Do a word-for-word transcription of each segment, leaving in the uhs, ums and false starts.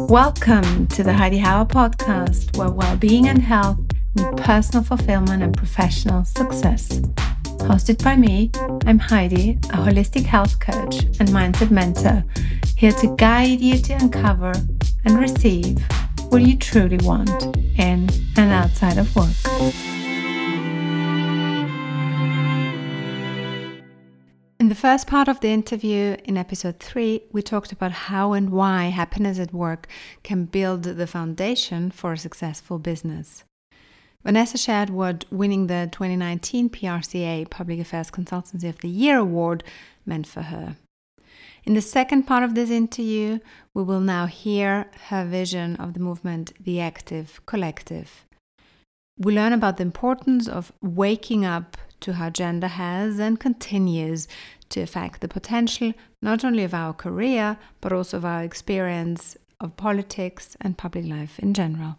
Welcome to the Heidi Hauer podcast, where well-being and health meet personal fulfillment and professional success. Hosted by me, I'm Heidi, a holistic health coach and mindset mentor, here to guide you to uncover and receive what you truly want in and outside of work. In the first part of the interview, in episode three, we talked about how and why happiness at work can build the foundation for a successful business. Vanessa shared what winning the twenty nineteen P R C A Public Affairs Consultancy of the Year award meant for her. In the second part of this interview, we will now hear her vision of the movement The Active Collective. We learn about the importance of waking up to how gender has and continues to affect the potential not only of our career, but also of our experience of politics and public life in general.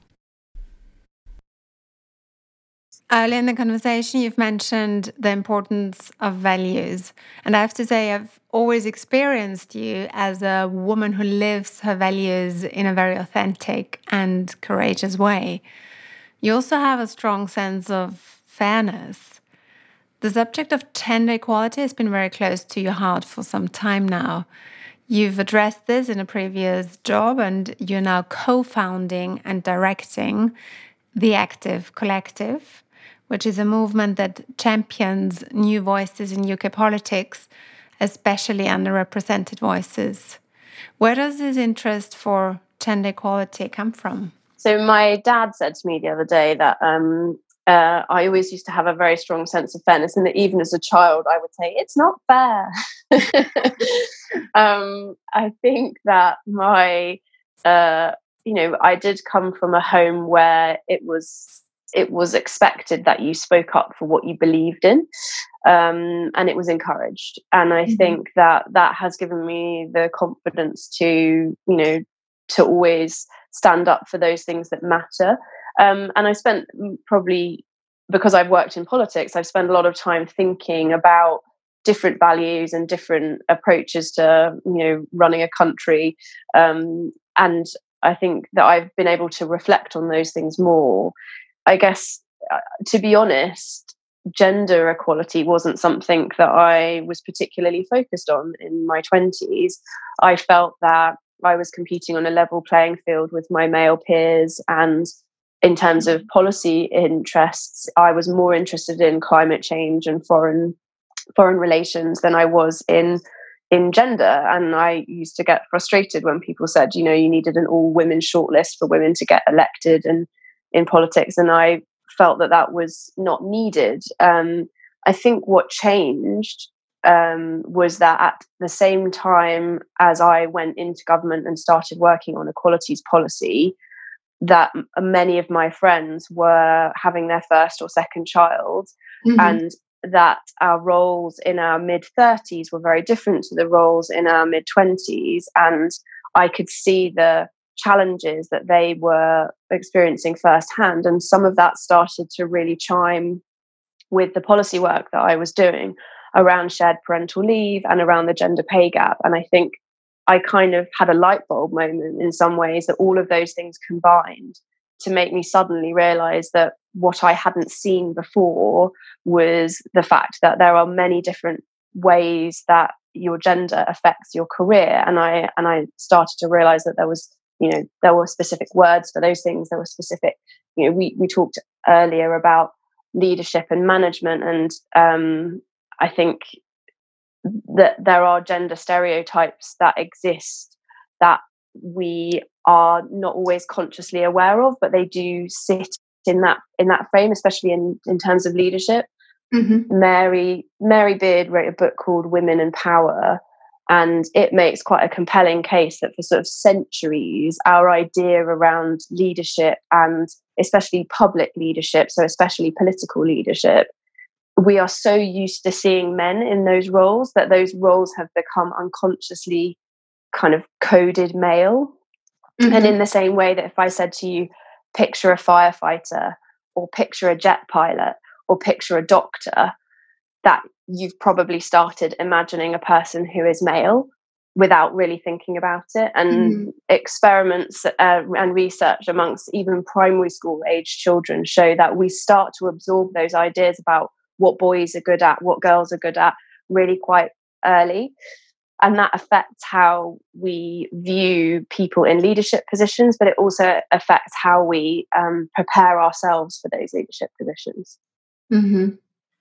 Earlier in the conversation, you've mentioned the importance of values. And I have to say, I've always experienced you as a woman who lives her values in a very authentic and courageous way. You also have a strong sense of fairness. The subject of gender equality has been very close to your heart for some time now. You've addressed this in a previous job, and you're now co-founding and directing The Active Collective, which is a movement that champions new voices in U K politics, especially underrepresented voices. Where does this interest for gender equality come from? So my dad said to me the other day that um, uh, I always used to have a very strong sense of fairness, and that even as a child, I would say, it's not fair. um, I think that my, uh, you know, I did come from a home where it was it was expected that you spoke up for what you believed in, um, and it was encouraged. And I mm-hmm. think that that has given me the confidence to, you know, to always stand up for those things that matter. Um, and I spent probably, because I've worked in politics, I've spent a lot of time thinking about different values and different approaches to, you know, running a country. Um, and I think that I've been able to reflect on those things more. I guess, uh, to be honest, gender equality wasn't something that I was particularly focused on in my twenties. I felt that I was competing on a level playing field with my male peers, and in terms of policy interests, I was more interested in climate change and foreign foreign relations than I was in in gender. And I used to get frustrated when people said, you know, you needed an all-women shortlist for women to get elected and in politics, and I felt that that was not needed. Um, I think what changed um, was that at the same time as I went into government and started working on equalities policy, that many of my friends were having their first or second child, mm-hmm. and that our roles in our mid-thirties were very different to the roles in our mid-twenties. And I could see the challenges that they were experiencing firsthand. And some of that started to really chime with the policy work that I was doing around shared parental leave and around the gender pay gap. And I think I kind of had a light bulb moment in some ways, that all of those things combined to make me suddenly realize that what I hadn't seen before was the fact that there are many different ways that your gender affects your career. And I and I started to realize that there was, you know, there were specific words for those things. There were specific, you know, we, we talked earlier about leadership and management. And um, I think that there are gender stereotypes that exist that we are not always consciously aware of, but they do sit in that in that frame, especially in, in terms of leadership. Mm-hmm. Mary Mary Beard wrote a book called Women and Power, and it makes quite a compelling case that for sort of centuries, our idea around leadership, and especially public leadership, so especially political leadership, we are so used to seeing men in those roles that those roles have become unconsciously kind of coded male. Mm-hmm. And in the same way that if I said to you, picture a firefighter, or picture a jet pilot, or picture a doctor, that you've probably started imagining a person who is male. without really thinking about it. And mm. experiments uh, and research amongst even primary school age children show that we start to absorb those ideas about what boys are good at, what girls are good at, really quite early. And that affects how we view people in leadership positions, but it also affects how we um, prepare ourselves for those leadership positions. Mm-hmm.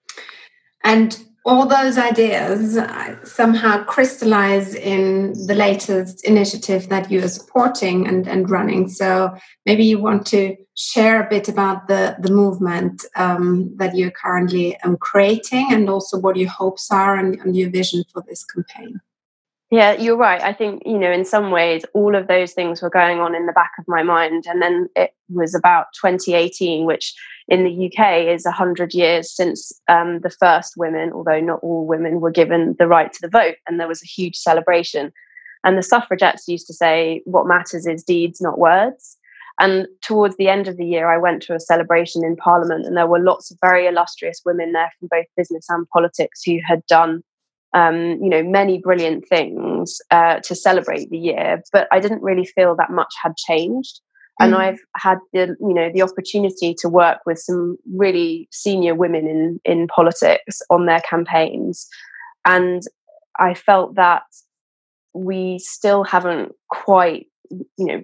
And all those ideas somehow crystallize in the latest initiative that you are supporting and, and running. So maybe you want to share a bit about the, the movement um, that you're currently um, creating, and also what your hopes are and, and your vision for this campaign. Yeah, you're right. I think, you know, in some ways, all of those things were going on in the back of my mind. And then it was about twenty eighteen, which in the U K is one hundred years since um, the first women, although not all women, were given the right to the vote. And there was a huge celebration. And the suffragettes used to say, what matters is deeds, not words. And towards the end of the year, I went to a celebration in Parliament, and there were lots of very illustrious women there from both business and politics who had done Um, you know, many brilliant things uh, to celebrate the year, but I didn't really feel that much had changed. And mm. I've had the, you know, the opportunity to work with some really senior women in in politics on their campaigns, and I felt that we still haven't quite, you know,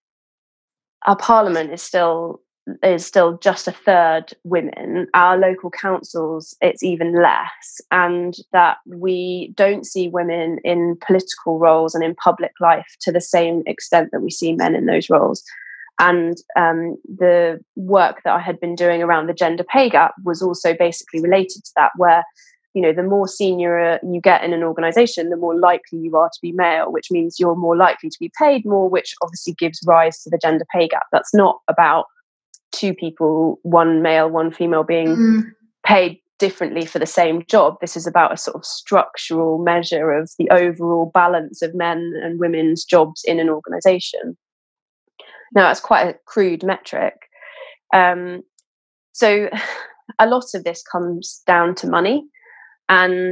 our parliament is still. is still just a third women. Our local councils, it's even less, and that we don't see women in political roles and in public life to the same extent that we see men in those roles. And um, the work that I had been doing around the gender pay gap was also basically related to that, where, you know, the more senior you get in an organisation, the more likely you are to be male, which means you're more likely to be paid more, which obviously gives rise to the gender pay gap. That's not about two people, one male, one female, being mm. paid differently for the same job. This is about a sort of structural measure of the overall balance of men and women's jobs in an organisation. Now, that's quite a crude metric. Um, so a lot of this comes down to money. And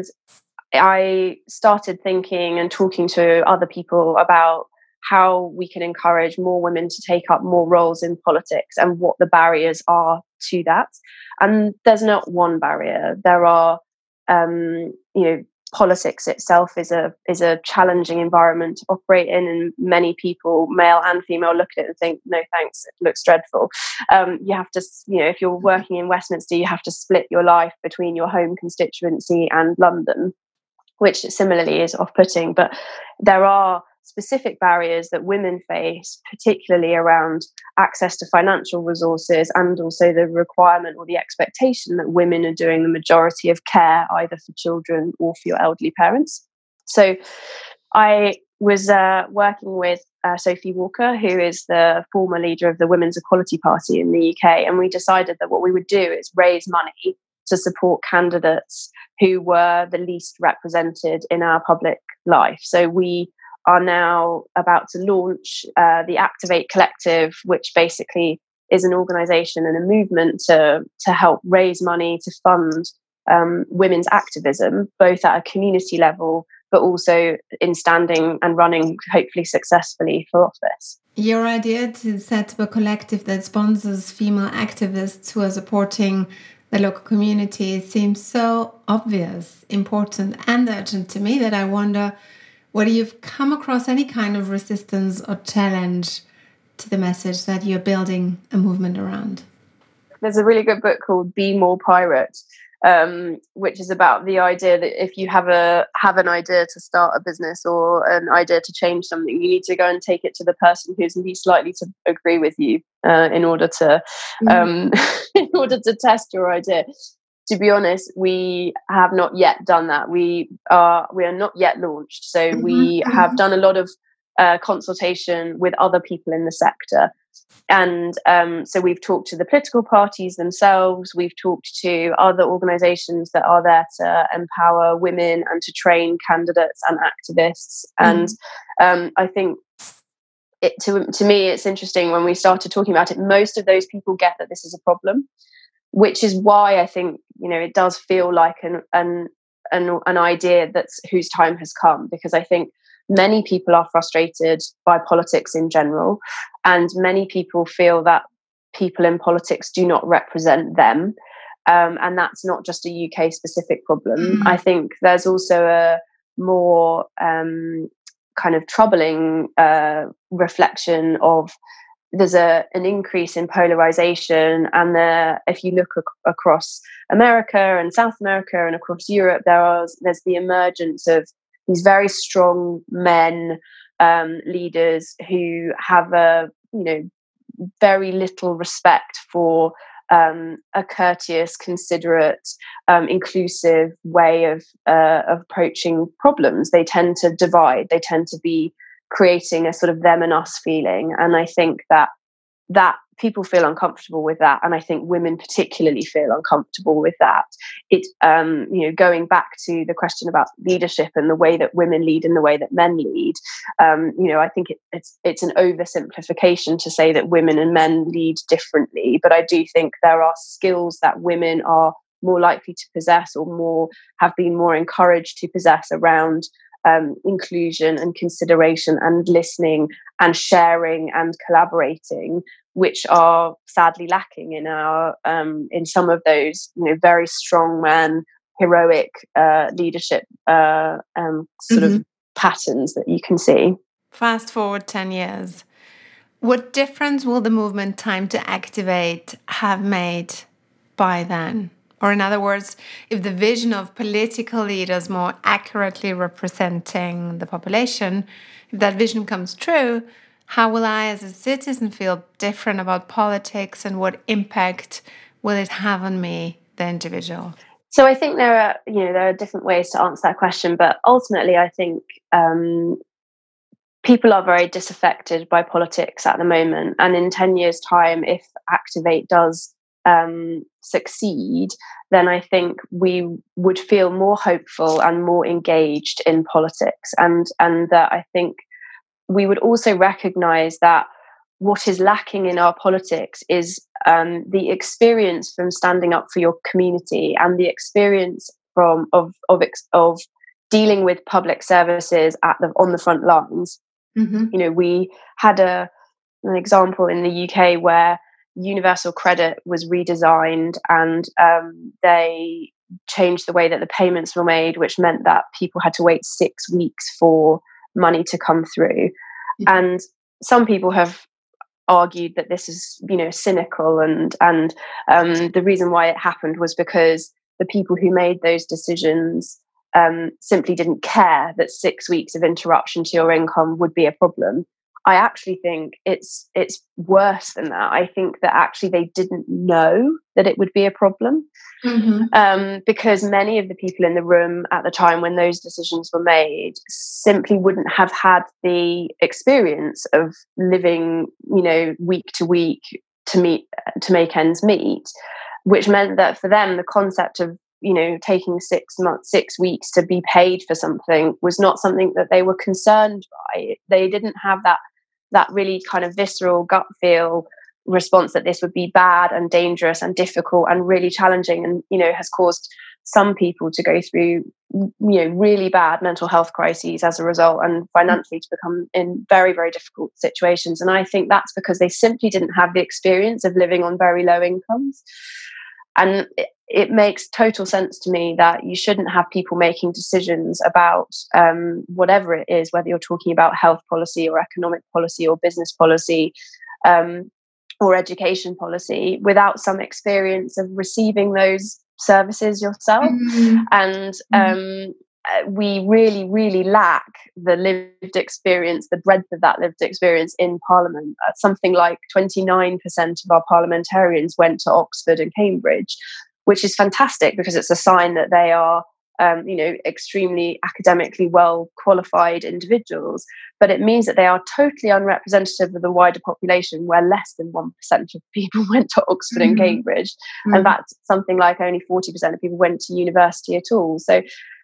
I started thinking and talking to other people about how we can encourage more women to take up more roles in politics and what the barriers are to that. And there's not one barrier. There are, um, you know, politics itself is a is a challenging environment to operate in, and many people, male and female, look at it and think, no thanks, it looks dreadful. Um, you have to, you know, if you're working in Westminster, you have to split your life between your home constituency and London, which similarly is off-putting. But there are specific barriers that women face, particularly around access to financial resources, and also the requirement or the expectation that women are doing the majority of care, either for children or for your elderly parents. So I was uh, working with uh, Sophie Walker, who is the former leader of the Women's Equality Party in the U K, and we decided that what we would do is raise money to support candidates who were the least represented in our public life. So we are now about to launch uh, the Activate Collective, which basically is an organisation and a movement to, to help raise money to fund um, women's activism, both at a community level, but also in standing and running, hopefully successfully, for office. Your idea to set up a collective that sponsors female activists who are supporting the local community seems so obvious, important and urgent to me that I wonder whether you've come across any kind of resistance or challenge to the message that you're building a movement around. There's a really good book called Be More Pirate, um, which is about the idea that if you have a have an idea to start a business or an idea to change something, you need to go and take it to the person who's least likely to agree with you uh, in order to um, mm. in order to test your idea. To be honest, we have not yet done that. We are we are not yet launched. So mm-hmm. we have done a lot of uh, consultation with other people in the sector. And um, so we've talked to the political parties themselves. We've talked to other organisations that are there to empower women and to train candidates and activists. Mm-hmm. And um, I think it, to, to me, it's interesting when we started talking about it, most of those people get that this is a problem, which is why I think, you know, it does feel like an an an, an idea that's whose time has come, because I think many people are frustrated by politics in general, and many people feel that people in politics do not represent them. Um, and that's not just a U K specific problem. Mm-hmm. I think there's also a more um, kind of troubling uh, reflection of there's a an increase in polarization, and there, if you look ac- across America and South America and across Europe, there are there's the emergence of these very strong men um, leaders who have a you know very little respect for um, a courteous, considerate, um, inclusive way of, uh, of approaching problems. They tend to divide. They tend to be creating a sort of them and us feeling. And I think that that people feel uncomfortable with that. And I think women particularly feel uncomfortable with that. It, um, you know, going back to the question about leadership and the way that women lead and the way that men lead, um, you know, I think it, it's it's an oversimplification to say that women and men lead differently. But I do think there are skills that women are more likely to possess, or more have been more encouraged to possess, around Um, inclusion and consideration and listening and sharing and collaborating, which are sadly lacking in our um, in some of those you know very strong man, heroic uh, leadership uh, um, sort mm-hmm. of patterns that you can see. Fast forward ten years. What difference will the movement Time to Activate have made by then? Or in other words, if the vision of political leaders more accurately representing the population, if that vision comes true, how will I as a citizen feel different about politics, and what impact will it have on me, the individual? So I think there are, you know, there are different ways to answer that question, but ultimately I think um, people are very disaffected by politics at the moment. And in ten years' time, if Activate does Um, succeed, then I think we would feel more hopeful and more engaged in politics. And and that I think we would also recognise that what is lacking in our politics is um, the experience from standing up for your community, and the experience from of of of dealing with public services at the on the front lines. Mm-hmm. You know, we had a an example in the U K where Universal Credit was redesigned, and um, they changed the way that the payments were made, which meant that people had to wait six weeks for money to come through. Mm-hmm. And some people have argued that this is, you know, cynical, and and um, the reason why it happened was because the people who made those decisions um, simply didn't care that six weeks of interruption to your income would be a problem. I actually think it's it's worse than that. I think that actually they didn't know that it would be a problem, mm-hmm. um, because many of the people in the room at the time when those decisions were made simply wouldn't have had the experience of living, you know, week to week to meet to make ends meet, which meant that for them the concept of, you know, taking six months, six weeks to be paid for something was not something that they were concerned by. They didn't have that that really kind of visceral gut feel response that this would be bad and dangerous and difficult and really challenging, and, you know, has caused some people to go through, you know, really bad mental health crises as a result, and financially to become in very, very difficult situations. And I think that's because they simply didn't have the experience of living on very low incomes. And it, it makes total sense to me that you shouldn't have people making decisions about um, whatever it is, whether you're talking about health policy or economic policy or business policy um, or education policy, without some experience of receiving those services yourself. Mm-hmm. And um, we really, really lack the lived experience, the breadth of that lived experience in Parliament. Uh, something like twenty-nine percent of our parliamentarians went to Oxford and Cambridge, which is fantastic because it's a sign that they are, um, you know, extremely academically well qualified individuals. But it means that they are totally unrepresentative of the wider population, where less than one percent of people went to Oxford mm-hmm. and Cambridge. Mm-hmm. And that's something like only forty percent of people went to university at all. So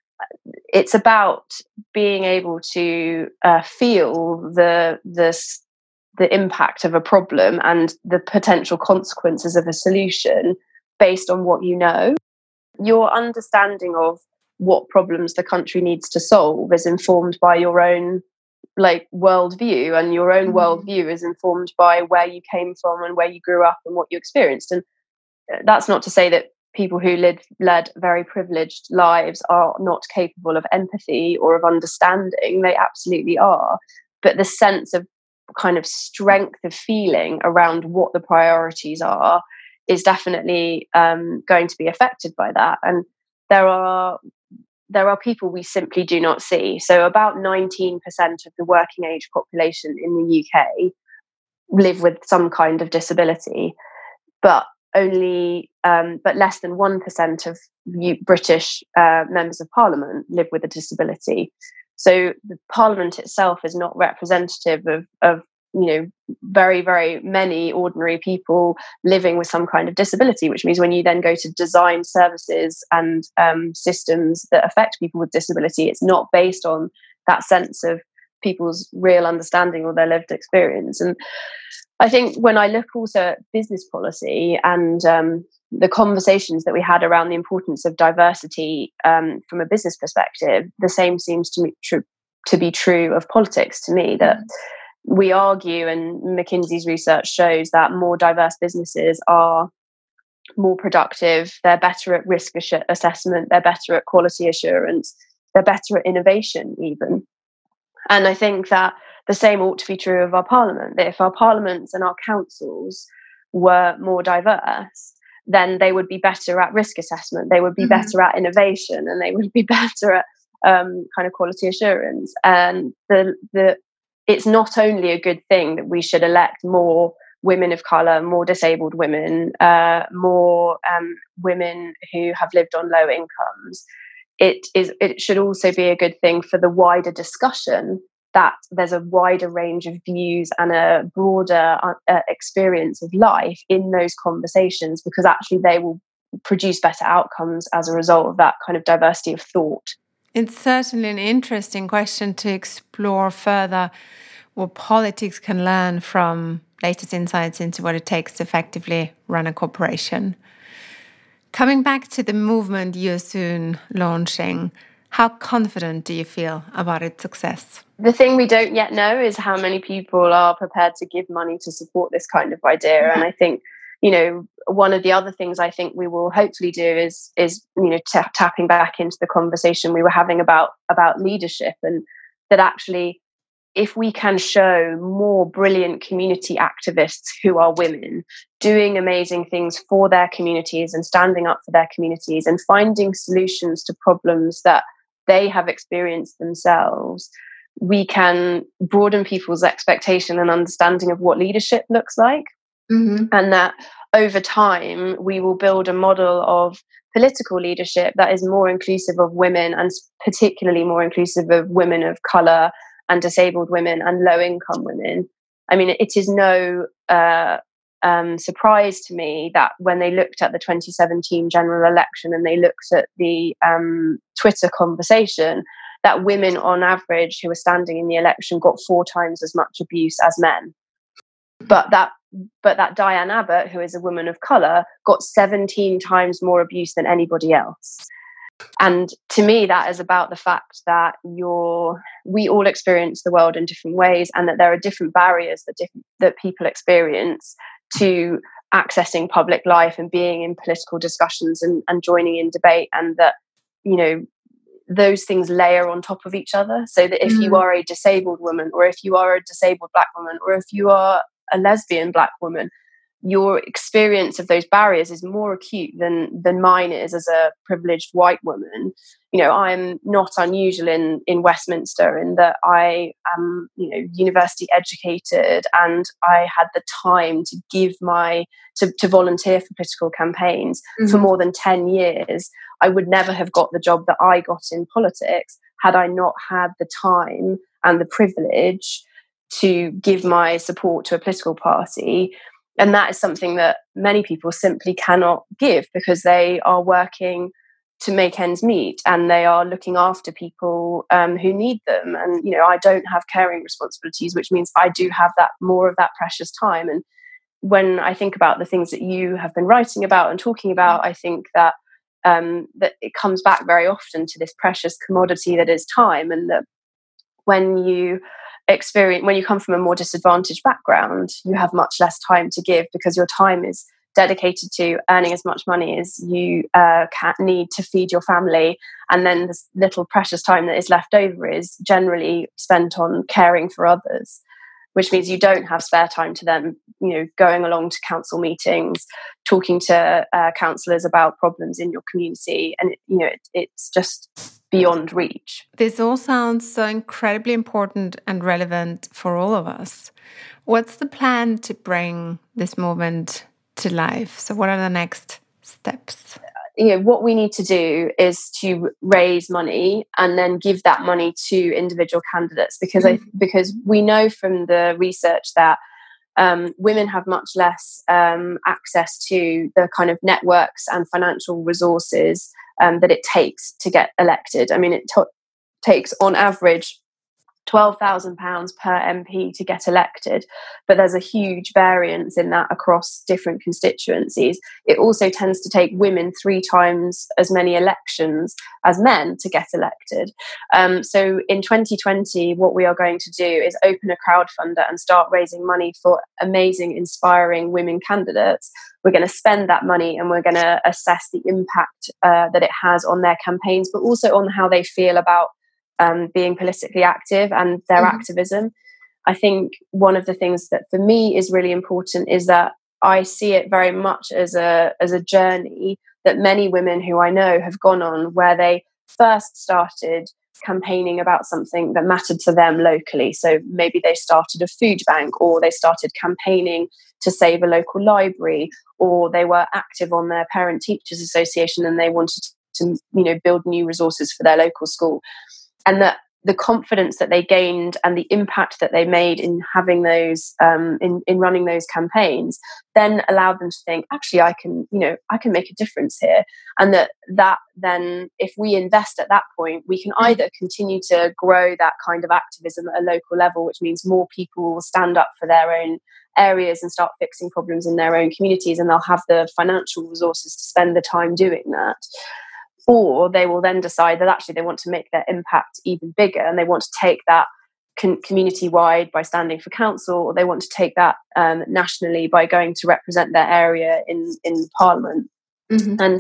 it's about being able to uh, feel the the the impact of a problem and the potential consequences of a solution based on what you know. Your understanding of what problems the country needs to solve is informed by your own like worldview, and your own mm. worldview is informed by where you came from and where you grew up and what you experienced. And that's not to say that people who led, led very privileged lives are not capable of empathy or of understanding. They absolutely are. But the sense of kind of strength of feeling around what the priorities are is definitely um, going to be affected by that. And there are there are people we simply do not see. So about nineteen percent of the working age population in the U K live with some kind of disability, but only um, but less than one percent of U- British uh, members of Parliament live with a disability. So the Parliament itself is not representative of, of you know, very, very many ordinary people living with some kind of disability, which means when you then go to design services and um, systems that affect people with disability, it's not based on that sense of people's real understanding or their lived experience. And I think when I look also at business policy and um, the conversations that we had around the importance of diversity um, from a business perspective, the same seems to me true to be true of politics to me, that mm-hmm. we argue, and McKinsey's research shows that more diverse businesses are more productive, they're better at risk ass- assessment, they're better at quality assurance, they're better at innovation even. And I think that the same ought to be true of our parliament, that if our parliaments and our councils were more diverse, then they would be better at risk assessment, they would be mm-hmm. better at innovation, and they would be better at um, kind of quality assurance. And the the it's not only a good thing that we should elect more women of colour, more disabled women, uh, more um, women who have lived on low incomes. It is. It should also be a good thing for the wider discussion that there's a wider range of views and a broader uh, experience of life in those conversations, because actually they will produce better outcomes as a result of that kind of diversity of thought. It's certainly an interesting question to explore further, what politics can learn from latest insights into what it takes to effectively run a corporation. Coming back to the movement you're soon launching, how confident do you feel about its success? The thing we don't yet know is how many people are prepared to give money to support this kind of idea. Yeah. And I think, you know, one of the other things I think we will hopefully do is, is you know, t- tapping back into the conversation we were having about, about leadership, and that actually, if we can show more brilliant community activists who are women doing amazing things for their communities and standing up for their communities and finding solutions to problems that they have experienced themselves, we can broaden people's expectation and understanding of what leadership looks like. Mm-hmm. And that over time, we will build a model of political leadership that is more inclusive of women, and particularly more inclusive of women of colour and disabled women and low-income women. I mean, it is no uh, um, surprise to me that when they looked at the twenty seventeen general election and they looked at the um, Twitter conversation, that women on average who were standing in the election got four times as much abuse as men. But that but that Diane Abbott, who is a woman of colour, got seventeen times more abuse than anybody else. And to me, that is about the fact that you're, we all experience the world in different ways, and that there are different barriers that different, that people experience to accessing public life and being in political discussions and, and joining in debate, and that, you know, those things layer on top of each other. So that if mm. you are a disabled woman, or if you are a disabled Black woman, or if you are a lesbian Black woman, your experience of those barriers is more acute than than mine is as a privileged white woman. You know, I'm not unusual in in Westminster in that I am, you know, university educated, and I had the time to give my to, to volunteer for political campaigns mm-hmm. for more than ten years. I would never have got the job that I got in politics had I not had the time and the privilege to give my support to a political party. And that is something that many people simply cannot give, because they are working to make ends meet and they are looking after people um, who need them. And, you know, I don't have caring responsibilities, which means I do have that more of that precious time. And when I think about the things that you have been writing about and talking about, I think that um, that it comes back very often to this precious commodity that is time, and that when you experience, when you come from a more disadvantaged background, you have much less time to give because your time is dedicated to earning as much money as you uh, can need to feed your family, and then this little precious time that is left over is generally spent on caring for others, which means you don't have spare time to then, you know, going along to council meetings, talking to uh, councillors about problems in your community, and it, you know, it, it's just beyond reach. This all sounds so incredibly important and relevant for all of us. What's the plan to bring this movement to life? So what are the next steps? You know, what we need to do is to raise money and then give that money to individual candidates, because mm-hmm. I, because we know from the research that um, women have much less um, access to the kind of networks and financial resources um, that it takes to get elected. I mean, it t- takes on average twelve thousand pounds per M P to get elected, but there's a huge variance in that across different constituencies. It also tends to take women three times as many elections as men to get elected. Um, so in twenty twenty, what we are going to do is open a crowdfunder and start raising money for amazing, inspiring women candidates. We're going to spend that money and we're going to assess the impact uh, that it has on their campaigns, but also on how they feel about Um, being politically active and their mm-hmm. activism. I think one of the things that for me is really important is that I see it very much as a as a journey that many women who I know have gone on, where they first started campaigning about something that mattered to them locally. So maybe they started a food bank, or they started campaigning to save a local library, or they were active on their parent teachers association and they wanted to, you know, build new resources for their local school. And that the confidence that they gained and the impact that they made in having those, um, in, in running those campaigns, then allowed them to think, actually, I can, you know, I can make a difference here. And that that then, if we invest at that point, we can either continue to grow that kind of activism at a local level, which means more people will stand up for their own areas and start fixing problems in their own communities, and they'll have the financial resources to spend the time doing that. Or they will then decide that actually they want to make their impact even bigger, and they want to take that con- community-wide by standing for council, or they want to take that um, nationally by going to represent their area in, in Parliament. Mm-hmm. And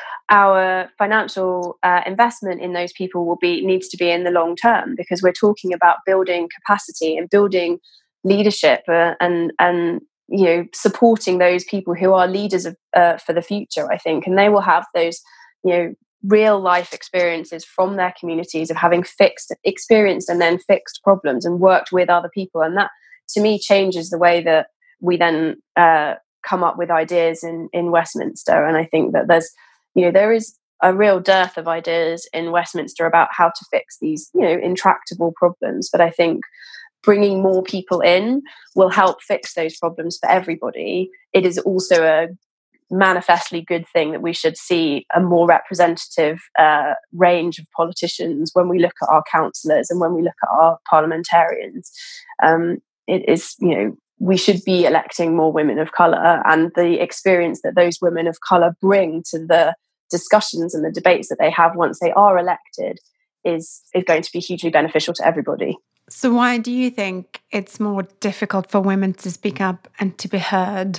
our financial uh, investment in those people will be needs to be in the long term, because we're talking about building capacity and building leadership uh, and and you know, supporting those people who are leaders of, uh, for the future, I think. And they will have those, you know, real life experiences from their communities of having fixed, experienced and then fixed problems and worked with other people. And that, to me, changes the way that we then uh, come up with ideas in, in Westminster. And I think that there's, you know, there is a real dearth of ideas in Westminster about how to fix these, you know, intractable problems. But I think bringing more people in will help fix those problems for everybody. It is also a manifestly good thing that we should see a more representative uh, range of politicians when we look at our councillors and when we look at our parliamentarians. Um, it is, you know, we should be electing more women of colour, and the experience that those women of colour bring to the discussions and the debates that they have once they are elected is, is going to be hugely beneficial to everybody. So why do you think it's more difficult for women to speak up and to be heard?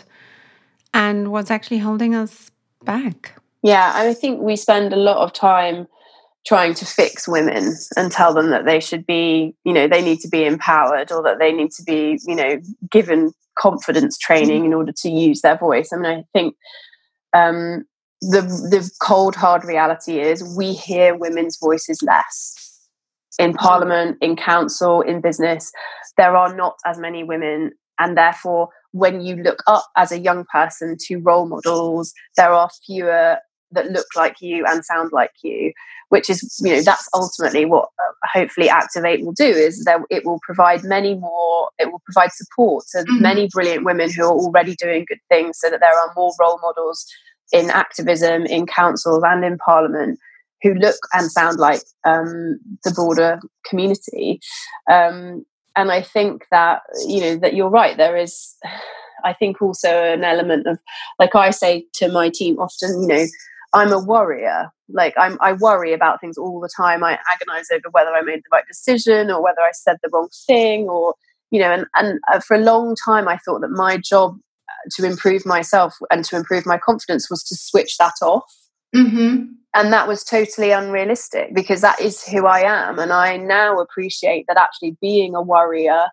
And what's actually holding us back? Yeah, I think we spend a lot of time trying to fix women and tell them that they should be, you know, they need to be empowered, or that they need to be, you know, given confidence training in order to use their voice. I mean, I think um, the the cold, hard reality is we hear women's voices less. In Parliament, in council, in business, there are not as many women, and therefore when you look up as a young person to role models, there are fewer that look like you and sound like you, which is, you know, that's ultimately what uh, hopefully Activate will do, is that it will provide many more, it will provide support to mm-hmm. many brilliant women who are already doing good things, so that there are more role models in activism, in councils and in Parliament who look and sound like um, the broader community. Um, And I think that, you know, that you're right. There is, I think, also an element of, like I say to my team often, you know, I'm a worrier. Like I'm, I worry about things all the time. I agonize over whether I made the right decision or whether I said the wrong thing, or, you know, and, and uh, for a long time, I thought that my job to improve myself and to improve my confidence was to switch that off. Mm-hmm. And that was totally unrealistic, because that is who I am. And I now appreciate that actually being a worrier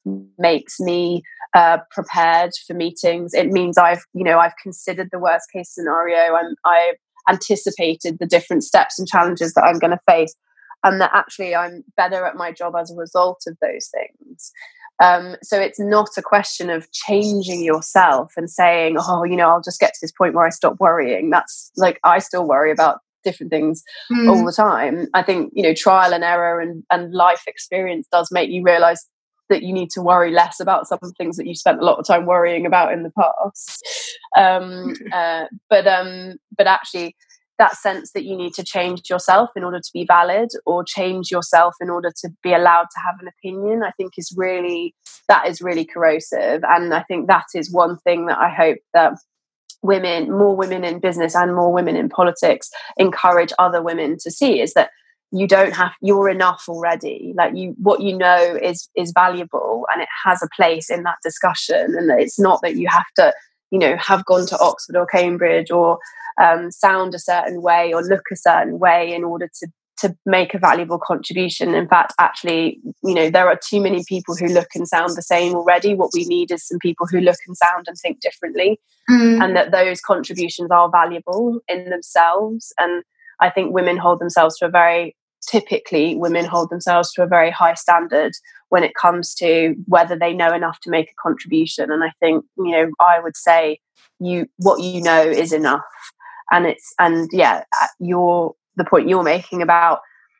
makes me uh, prepared for meetings. It means I've, you know, I've considered the worst case scenario, and I've anticipated the different steps and challenges that I'm going to face, and that actually I'm better at my job as a result of those things. Um, so it's not a question of changing yourself and saying, oh, you know, I'll just get to this point where I stop worrying. That's like, I still worry about different things mm. all the time. I think, you know, trial and error and, and life experience does make you realize that you need to worry less about some things that you spent a lot of time worrying about in the past. Um, uh, but um, but actually, that sense that you need to change yourself in order to be valid, or change yourself in order to be allowed to have an opinion, I think is really, that is really corrosive. And I think that is one thing that I hope that women, more women in business and more women in politics, encourage other women to see, is that you don't have, you're enough already. Like you, what you know is is valuable, and it has a place in that discussion. And that it's not that you have to, you know, have gone to Oxford or Cambridge, or um, sound a certain way or look a certain way in order to to make a valuable contribution. In fact, actually, you know, there are too many people who look and sound the same already. What we need is some people who look and sound and think differently, mm. and that those contributions are valuable in themselves. And I think women hold themselves to a very, typically women hold themselves to a very high standard when it comes to whether they know enough to make a contribution. And I think, you know, I would say you, what you know is enough. And it's, and yeah, you're, the point you're making about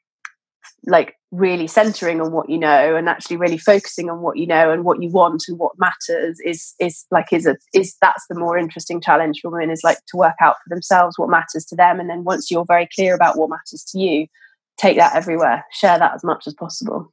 like really centering on what you know, and actually really focusing on what you know and what you want and what matters is is like is a is that's the more interesting challenge for women, is like to work out for themselves what matters to them. And then once you're very clear about what matters to you, take that everywhere, share that as much as possible.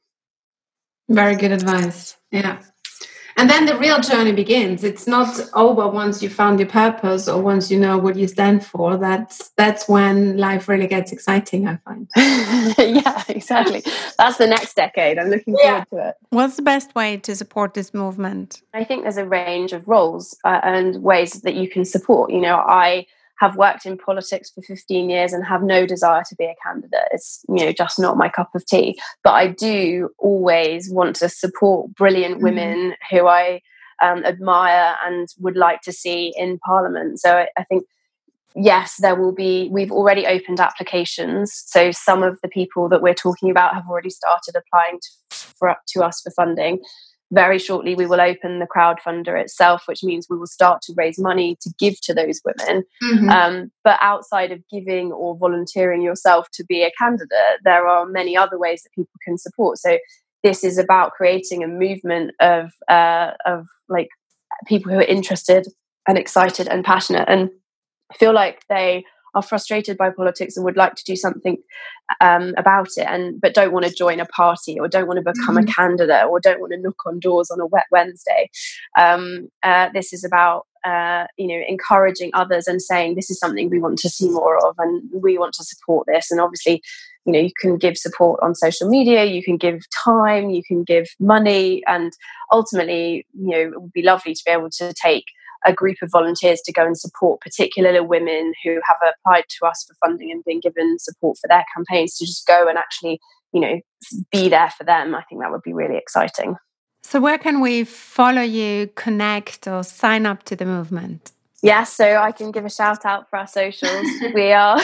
Very good advice. Yeah. And then the real journey begins. It's not over once you found your purpose or once you know what you stand for. That's that's when life really gets exciting, I find. Yeah, exactly. That's the next decade. I'm looking yeah. forward to it. What's the best way to support this movement? I think there's a range of roles uh, and ways that you can support. You know, I have worked in politics for fifteen years and have no desire to be a candidate. It's, you know, just not my cup of tea. But I do always want to support brilliant mm-hmm. women who I um, admire and would like to see in Parliament. So I, I think, yes, there will be, we've already opened applications. So some of the people that we're talking about have already started applying to, for, to us for funding. Very shortly, we will open the crowdfunder itself, which means we will start to raise money to give to those women. Mm-hmm. Um, but outside of giving or volunteering yourself to be a candidate, there are many other ways that people can support. So this is about creating a movement of uh, of like people who are interested and excited and passionate and feel like they are frustrated by politics and would like to do something um, about it, and but don't want to join a party or don't want to become mm-hmm. a candidate or don't want to knock on doors on a wet Wednesday. Um, uh, this is about uh, you know, encouraging others and saying this is something we want to see more of and we want to support this. And obviously, you know, you can give support on social media, you can give time, you can give money, and ultimately, you know, it would be lovely to be able to take a group of volunteers to go and support particularly women who have applied to us for funding and been given support for their campaigns, to just go and actually, you know, be there for them. I think that would be really exciting. So where can we follow you, connect, or sign up to the movement? Yes, so I can give a shout out for our socials. We are,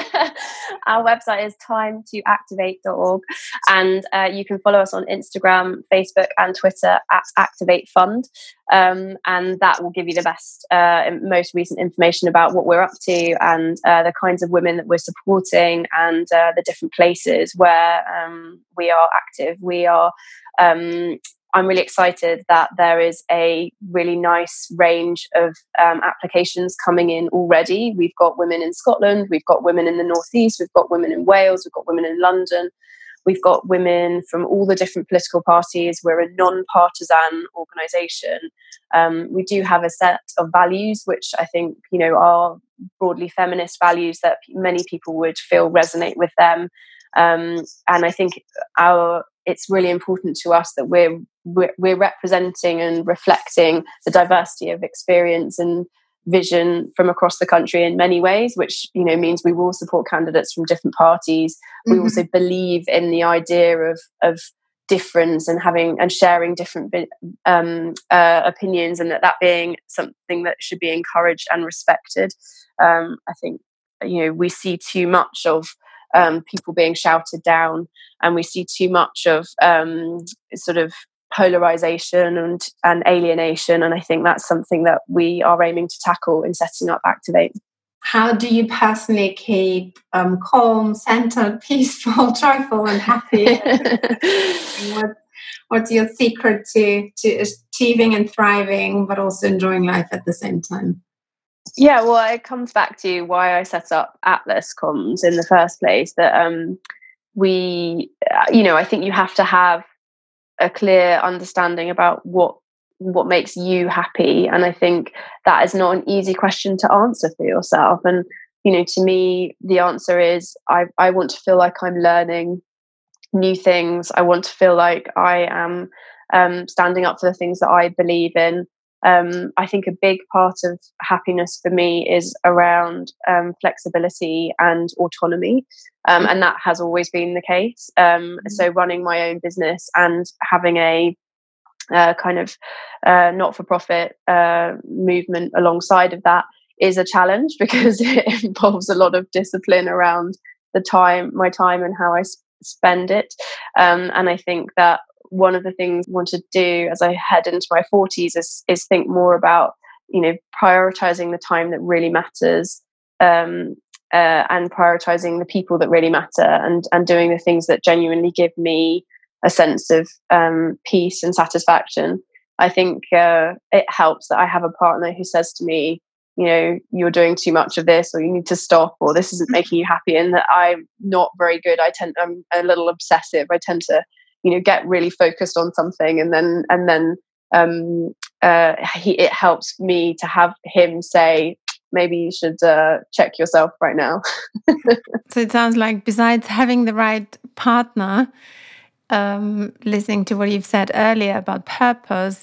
our website is time to activate dot org, and uh, you can follow us on Instagram, Facebook and Twitter at Activate Fund. Um, and that will give you the best, uh, most recent information about what we're up to and uh, the kinds of women that we're supporting and uh, the different places where um, we are active. We are... Um, I'm really excited that there is a really nice range of um, applications coming in already. We've got women in Scotland, we've got women in the Northeast, we've got women in Wales, we've got women in London. We've got women from all the different political parties. We're a non-partisan organisation. Um, we do have a set of values, which I think, you know, are broadly feminist values that many people would feel resonate with them. Um, and I think our it's really important to us that we're, we're we're representing and reflecting the diversity of experience and vision from across the country in many ways, which, you know, means we will support candidates from different parties. Mm-hmm. We also believe in the idea of of difference and having and sharing different um, uh, opinions, and that that being something that should be encouraged and respected. Um, I think, you know, we see too much of um, people being shouted down, and we see too much of um, sort of polarization and, and alienation. And I think that's something that we are aiming to tackle in setting up Activate. How do you personally keep um, calm, centered, peaceful, joyful, and happy? what, what's your secret to, to achieving and thriving, but also enjoying life at the same time? Yeah, well, it comes back to why I set up Atlas Comms in the first place. That um, we, you know, I think you have to have a clear understanding about what what makes you happy, and I think that is not an easy question to answer for yourself. And, you know, to me, the answer is I I want to feel like I'm learning new things. I want to feel like I am um, standing up for the things that I believe in. Um, I think a big part of happiness for me is around um, flexibility and autonomy. Um, and that has always been the case. Um, so running my own business and having a uh, kind of uh, not-for-profit uh, movement alongside of that is a challenge, because it involves a lot of discipline around the time, my time and how I s- spend it. Um, and I think that one of the things I want to do as I head into my forties is, is think more about, you know, prioritizing the time that really matters, um, uh, and prioritizing the people that really matter, and, and doing the things that genuinely give me a sense of um, peace and satisfaction. I think uh, it helps that I have a partner who says to me, you know, you're doing too much of this, or you need to stop, or this isn't making you happy. And that I'm not very good. I tend, I'm a little obsessive. I tend to, you know, get really focused on something, and then and then um, uh, he, it helps me to have him say, maybe you should uh, check yourself right now. So it sounds like, besides having the right partner, um, listening to what you've said earlier about purpose,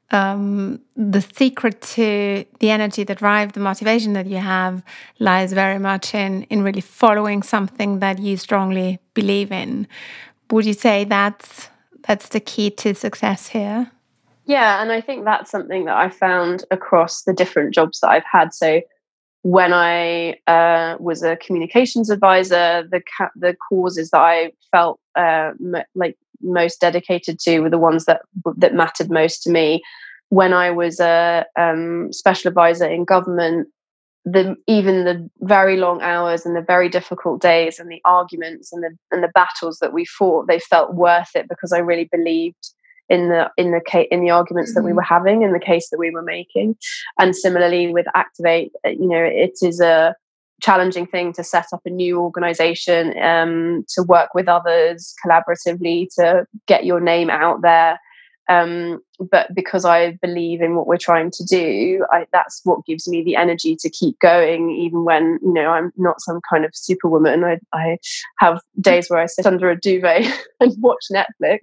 um, the secret to the energy that drives the motivation that you have lies very much in in really following something that you strongly believe in. Would you say that's that's the key to success here? Yeah, and I think that's something that I found across the different jobs that I've had. So when I uh, was a communications advisor, the ca- the causes that I felt uh, m- like most dedicated to were the ones that that mattered most to me. When I was a um, special advisor in government, the even the very long hours and the very difficult days and the arguments and the and the battles that we fought, they felt worth it, because I really believed in the in the case in the arguments mm-hmm. that we were having, in the case that we were making. And similarly with Activate, you know, it is a challenging thing to set up a new organization, um, to work with others collaboratively to get your name out there. Um, but because I believe in what we're trying to do, I, that's what gives me the energy to keep going, even when, you know, I'm not some kind of superwoman. I, I have days where I sit under a duvet and watch Netflix.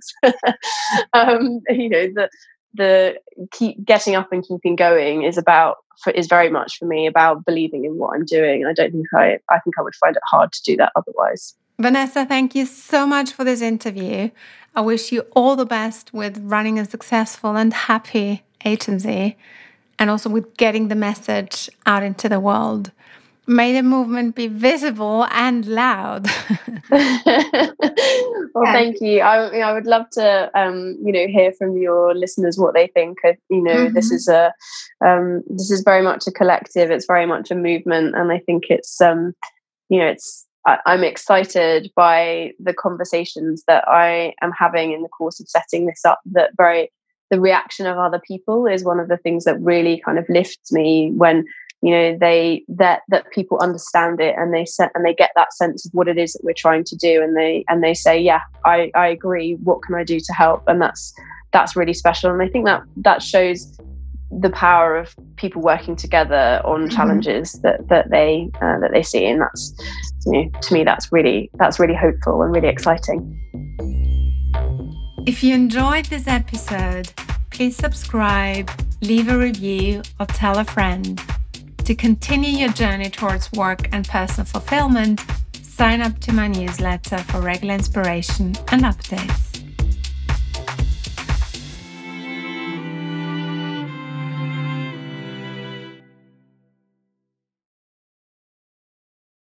um, you know, the the keep getting up and keeping going is about for, is very much for me about believing in what I'm doing. I don't think I I think I would find it hard to do that otherwise. Vanessa, thank you so much for this interview. I wish you all the best with running a successful and happy agency, and also with getting the message out into the world. May the movement be visible and loud. Well, thank you. I, you know, I would love to, um, you know, hear from your listeners what they think. Of, you know, mm-hmm. this is a, um, this is very much a collective. It's very much a movement, and I think it's, um, you know, it's. I'm excited by the conversations that I am having in the course of setting this up. That very, the reaction of other people is one of the things that really kind of lifts me when you know, they that that people understand it, and they set and they get that sense of what it is that we're trying to do, and they and they say, yeah, I, I agree. What can I do to help? And that's that's really special. And I think that that shows the power of people working together on challenges mm-hmm. that that they uh, that they see, and that's, you know, to me that's really that's really hopeful and really exciting. If you enjoyed this episode, please subscribe, leave a review, or tell a friend. To continue your journey towards work and personal fulfillment, sign up to my newsletter for regular inspiration and updates.